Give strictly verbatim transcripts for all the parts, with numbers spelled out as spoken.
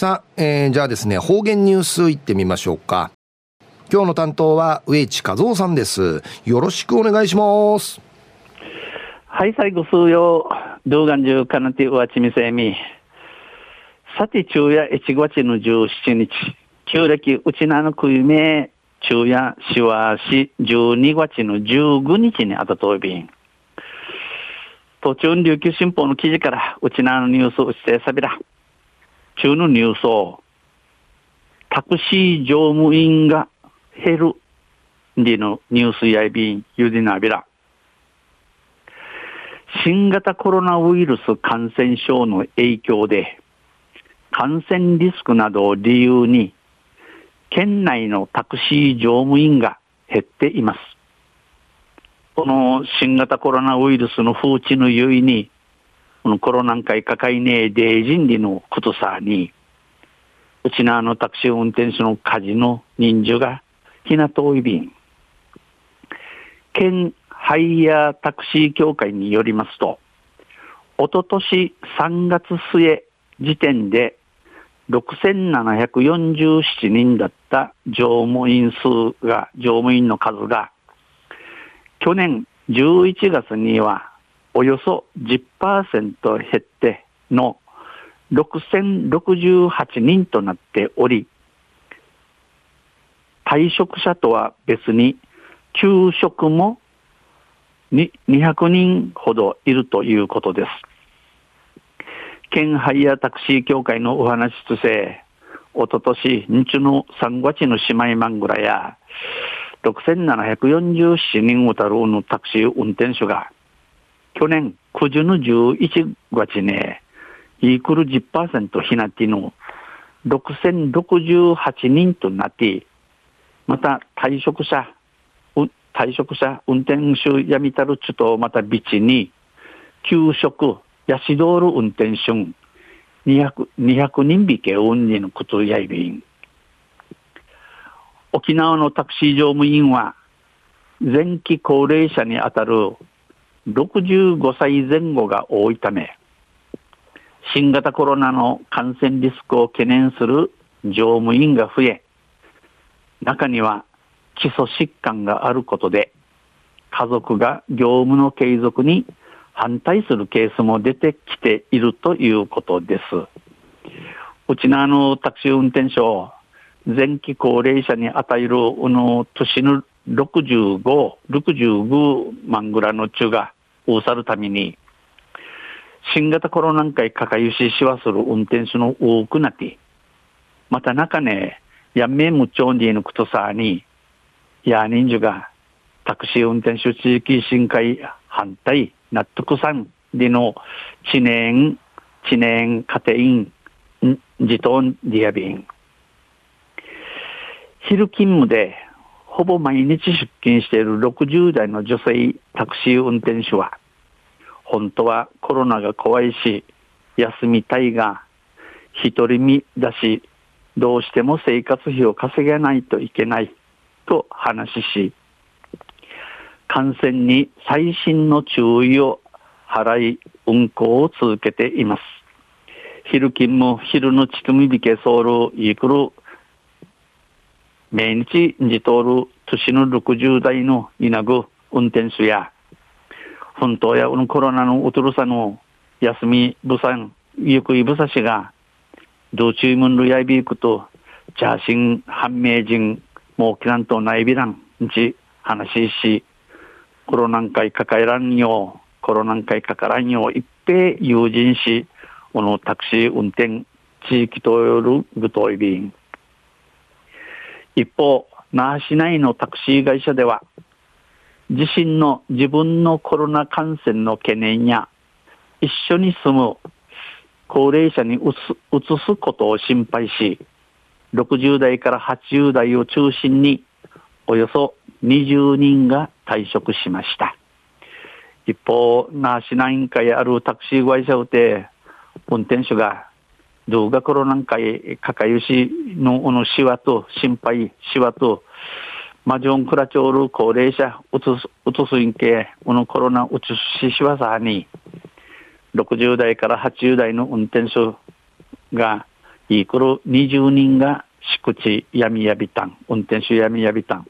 さあ、えー、じゃあですね、方言ニュースいってみましょうか。今日の担当は上地和夫さんです。よろしくお願いします。 はい、最後数曜動画中かなてうわちみせみさて昼夜いちがつのじゅうしちにち旧暦うちなのくいめ昼夜しわしじゅうにがつのじゅうごにちにあたといびん途中琉球新報の記事からうちなのニュースをしてさびら中のニュースをタクシー乗務員が減るでのニュースやいびんゆでなびら新型コロナウイルス感染症の影響で感染リスクなどを理由に県内のタクシー乗務員が減っています。この新型コロナウイルスの風知のゆいにこのコロナ禍かかいねえデージンリのことさにうちなのタクシー運転手の家事の人数がひなといびん県ハイヤータクシー協会によりますとおととしさんがつ末時点でろくせんななひゃくよんじゅうななにんだった乗務員数が乗務員の数が去年じゅういちがつにはおよそ じゅっパーセント 減ってのろくせんろくじゅうはちにんとなっており退職者とは別に休職もにひゃくにんほどいるということです。県ハイヤータクシー協会のお話としておととし日のさんがつの姉妹マングラやろくせんななひゃくよんじゅうななにんをたるのタクシー運転手が去年くじのじゅういちがつねイークル じゅっパーセント ひなってのろくせんろくじゅうはちにんとなってまた退職者退職者運転手やみたるちとまたビチに休職やしどる運転手にひゃくにんびけ運にのことやいびん沖縄のタクシー乗務員は前期高齢者にあたるろくじゅうごさいぜん後が多いため新型コロナの感染リスクを懸念する乗務員が増え中には基礎疾患があることで家族が業務の継続に反対するケースも出てきているということです。うちのあのタクシー運転手を前期高齢者に与えるあの年のろくじゅうご、ろくじゅうごまんぐらいの中が多さるために新型コロナ禍かかゆししわする運転手の多くなってまた中ねやめむちょんでいのことさにや人数がタクシー運転手地域振興反対納得さんでの知念知念家庭員自動ディアビン昼勤務でほぼ毎日出勤しているろくじゅうだいの女性タクシー運転手は本当はコロナが怖いし休みたいが一人身だしどうしても生活費を稼げないといけないと話し感染に細心の注意を払い運行を続けています。昼勤務昼のちとみびけソウルイクル毎日じとる年のろくじゅうだいの稲ぐ運転手や本当やコロナのうとるさの休みぶさんゆくいぶさしが道中門るやいびいくとジャーシン判明人もうきらんとないびらんち話しコロナンかいかからんよコロナンかいかからんよ一平友人しこのタクシー運転地域とよるぐといびん一方那覇市内のタクシー会社では自身の自分のコロナ感染の懸念や一緒に住む高齢者にうつ、うつすことを心配しろくじゅうだいからはちじゅうだいを中心におよそにじゅうにんが退職しました。一方那覇市内にあるタクシー会社で運転手が動画コロナ禍かかゆしのこのしわと心配しわとマジョンクラチョール高齢者うつすうつすんけこのコロナうつししわさにろくじゅうだいからはちじゅうだいの運転手がイクルにじゅうにんが宿地闇やびたん、運転手闇やびたん。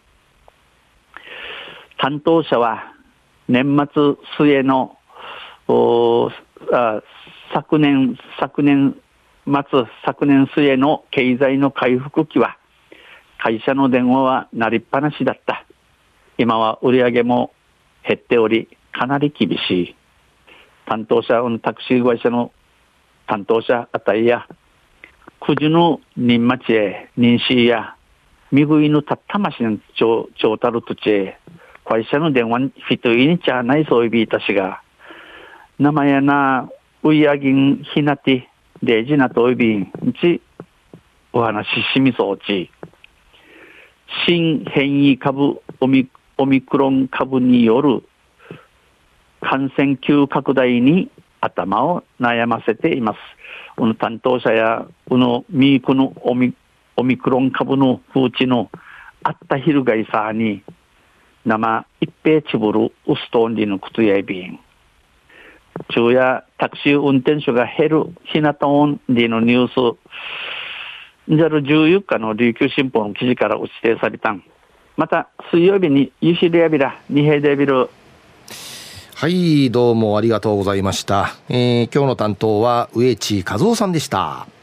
担当者は年末末のあ昨年昨年末昨年末の経済の回復期は会社の電話は鳴りっぱなしだった。今は売り上げも減っておりかなり厳しい。担当者のタクシー会社の担当者あたりやくじの人町へ認識やみぐいのたったましのちょうたる土地へ会社の電話にフィトイにちゃないそういびいたしが名前やなういやぎんひなて大事なといびんちお話ししみそうち新変異株オミ、オミクロン株による感染急拡大に頭を悩ませています。この担当者やこのミークのオミ、オミクロン株の風知のあったひるがいさに生一平ちぶるウストーンリのくつやいびん昼夜タクシー運転手が減るひなたオンリのニュースじゃるじゅうよっかの琉球新報の記事から指定されたん。また水曜日にユシリアビラ二平デビル。 はい、どうもありがとうございました。えー、今日の担当は植地和夫さんでした。